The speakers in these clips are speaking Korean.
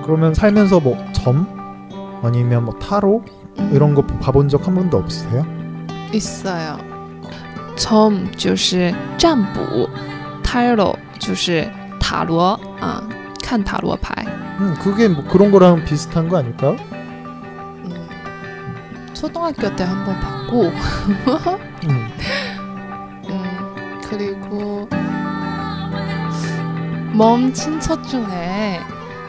그러면 살면서 뭐 점? 아니면 뭐 타로? 이런 거 봐본 적 한 번도 없으세요? 있어요. 점 就是占卜 타로 就是塔罗看塔罗牌 그게 뭐 그런 거랑 비슷한 거 아닐까요? 초등학교 때 한 번 봤고 그리고 먼 친척 중에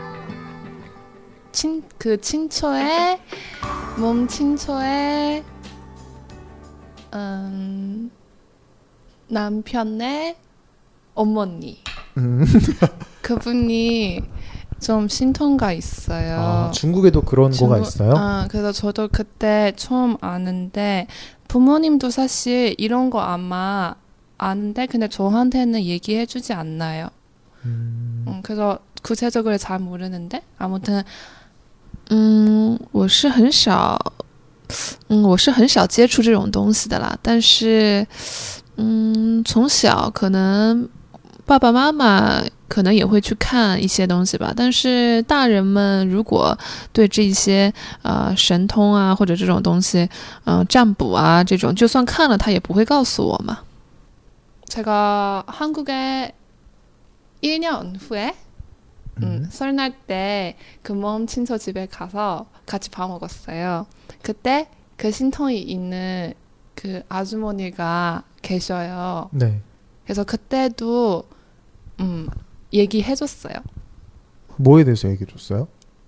친처에 몸 친처에 남편의 어머니 그분이 좀 신통가 있어요. 중국에도 그런 거가 있어요? 그래서 저도 그때 처음 아는데 부모님도 사실 이런 거 아마 아는데 근데 저한테는 얘기해주지 않나요. 그래서 구체적으로 잘 모르는데 아무튼 我是很少接触这种东西的啦，但是从小可能爸爸妈妈可能也会去看一些东西吧，但是大人们如果对这些神通啊或者这种东西占卜啊这种就算看了他也不会告诉我嘛。 제가 한국에 1년 후에 설날 때 그 먼 친척 집에 가서 같이 밥 먹었어요. 그때 그 신통이 있는 그 아주머니가 계셔요. 네. 그래서 그때도 얘기해줬어요. 뭐에 대해서 얘기해줬어요?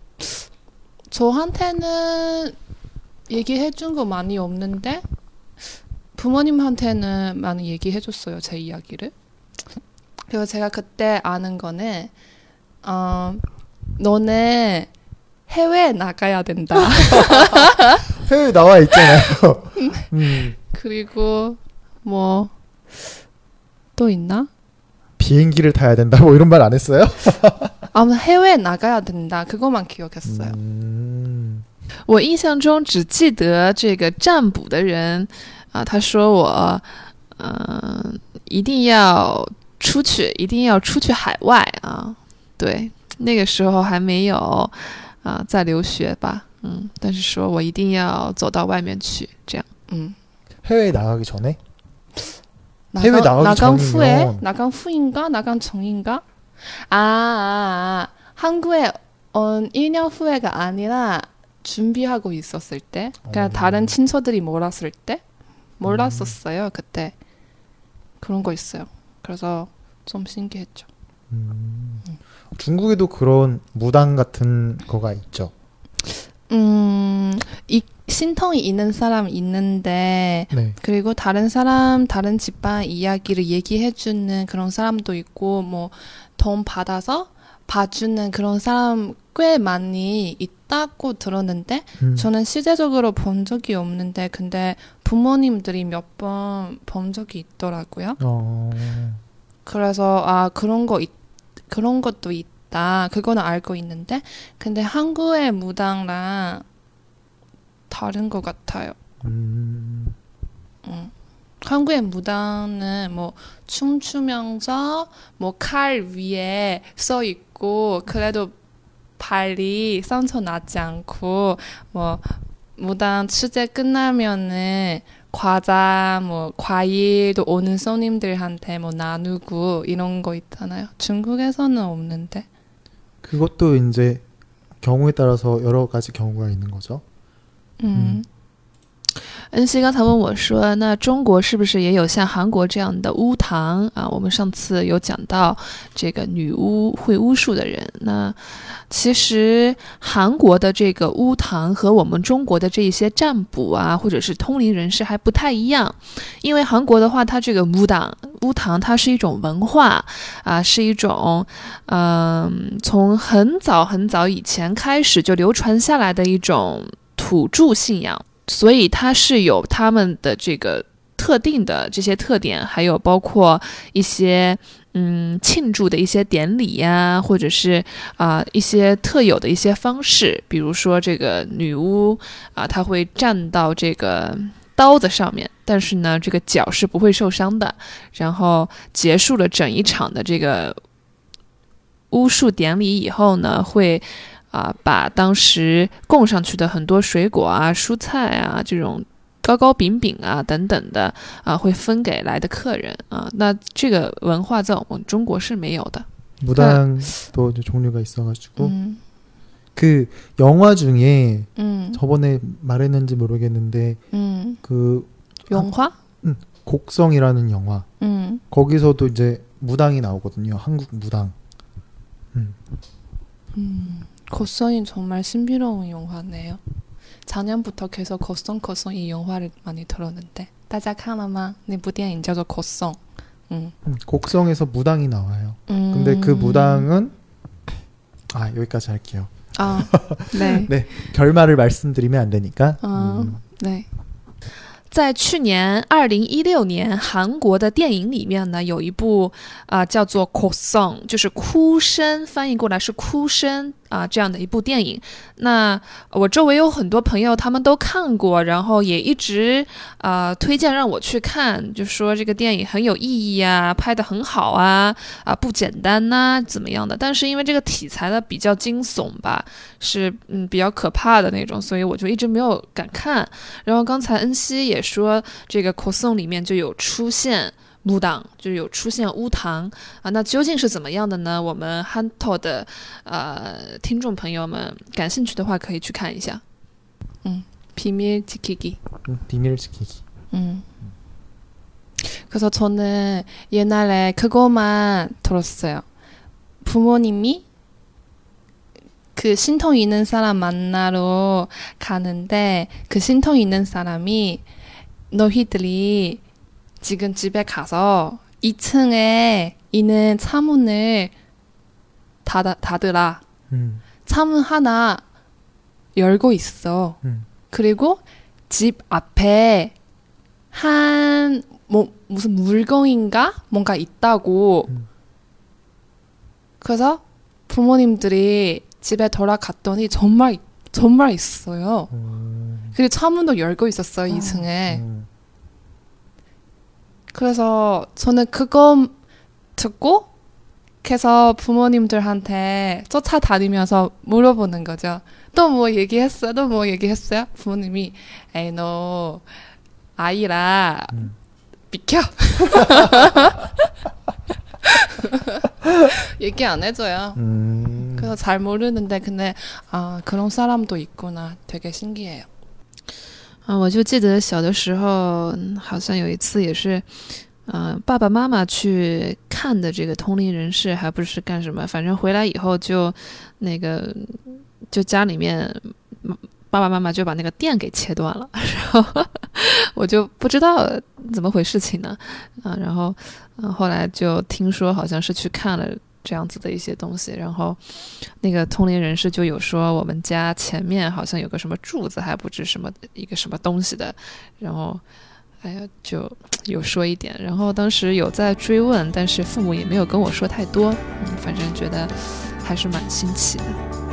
저한테는 얘기해준 거 많이 없는데 부모님한테는 많이 얘기해줬어요. 제 이야기를. 그리고 제가 그때 아는 거는 너는 해외에 나가야 된다. 해외에 나와 있잖아요. 그리고 뭐 또 있나? 비행기를 타야 된다 뭐 이런 말 안 했어요? 아무튼 해외에 나가야 된다. 그것만 기억했어요. 我印象中只记得这个占卜的人他说我一定要出去海外对，那个时候还没有在留学吧，但是说我一定要走到外面去，这样。 해외에 나가기 전에? 해외 나가기 전이면 나간 후인가? 나간 전인가? 한국에 온 1년 후에가 아니라 준비하고 있었을 때 그냥 다른 친척들이 몰았을 때 몰랐었어요. 그때 그런 거 있어요. 그래서 좀 신기했죠. 중국에도 그런 무당 같은 거가 있죠. 이 신통이 있는 사람 있는데 네. 그리고 다른 집안 이야기를 얘기해주는 그런 사람도 있고 뭐 돈 받아서 봐주는 그런 사람 꽤 많이 있다고 들었는데 저는 실제적으로 본 적이 없는데 근데 부모님들이 몇 번 본 적이 있더라고요. 그래서 그런 것도 있다. 그거는 알고 있는데 근데 한국의 무당랑 다른 것 같아요. 한국의 무당은 뭐 춤추면서 뭐 칼 위에 써 있고 그래도 발이 상처 나지 않고 뭐 무당 취재 끝나면은 과자 뭐 과일도 오는 손님들한테 뭐 나누고 이런 거 있잖아요. 중국에서는 없는데. 그것도 이제 경우에 따라서 여러 가지 경우가 있는 거죠. 恩熙刚才问我说那中国是不是也有像韩国这样的巫堂我们上次有讲到这个女巫会巫术的人那其实韩国的这个巫堂和我们中国的这些占卜或者是通灵人士还不太一样因为韩国的话它这个巫堂它是一种文化是一种从很早很早以前开始就流传下来的一种土著信仰所以它是有他们的这个特定的这些特点还有包括一些庆祝的一些典礼或者是一些特有的一些方式比如说这个女巫她会站到这个刀子上面但是呢这个脚是不会受伤的然后结束了整一场的这个巫术典礼以后呢会把当时供上去的很多水果啊、蔬菜啊这种糕糕饼饼啊等等的会分给来的客人那这个文化在我们中国是没有的。 무당도 종류가 있어가지고 그 영화 중에 저번에 말했는지 모르겠는데 그 영화? 곡성이라는 영화 거기서도 이제 무당이 나오거든요. 한국 무당. 거성이 정말 신비로운 영화네요. 작년부터 계속 거성 이 영화를 많이 들었는데 大家看了吗？那部电影叫做 거성. 곡성에서 무당이 나와요. 근데 그 무당은 여기까지 할게요. 네. 네, 결말을 말씀드리면 안 되니까. 네. 在去年2016年韩国的电影里面呢，有一部叫做《哭声》，就是哭声，翻译过来是哭声这样的一部电影。那我周围有很多朋友他们都看过，然后也一直推荐让我去看，就说这个电影很有意义啊，拍得很好不简单呐怎么样的。但是因为这个题材呢比较惊悚吧，是比较可怕的那种，所以我就一直没有敢看。然后刚才恩熙也说这个 거성 里面就有出现무당，就有出现巫堂那究竟是怎么样的呢？我们 한터 的听众朋友们感兴趣的话可以去看一下。 비밀 지키기. 비밀 지키기. 그래서 저는 옛날에 그거만 들었어요. 부모님이 그 신통 있는 사람 만나러 가는데 그 신통 있는 사람이 너희들이 지금 집에 가서 2층에 있는 창문을 닫으라. 창문 하나 열고 있어. 그리고 집 앞에 무슨 물건인가? 뭔가 있다고. 그래서 부모님들이 집에 돌아갔더니 정말 있어요. 그리고 창문도 열고 있었어요, 2층에. 그래서 저는 그거 듣고 그래서 부모님들한테 쫓아다니면서 물어보는 거죠. 또 뭐 얘기했어요? 또 뭐 얘기했어요? 부모님이 에이 너 아이라 비켜. 얘기 안 해줘요. 그래서 잘 모르는데 근데 그런 사람도 있구나. 되게 신기해요. 我就记得小的时候好像有一次也是爸爸妈妈去看的这个通灵人士，还不是干什么，反正回来以后就就家里面爸爸妈妈就把那个电给切断了，然后我就不知道怎么回事情呢然后后来就听说好像是去看了这样子的一些东西，然后那个通灵人士就有说我们家前面好像有个什么柱子，还不知什么一个什么东西的，然后就有说一点，然后当时有在追问，但是父母也没有跟我说太多反正觉得还是蛮新奇的。